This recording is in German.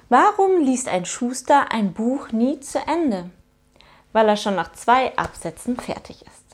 Warum liest ein Schuster ein Buch nie zu Ende? Weil er schon nach 2 Absätzen fertig ist.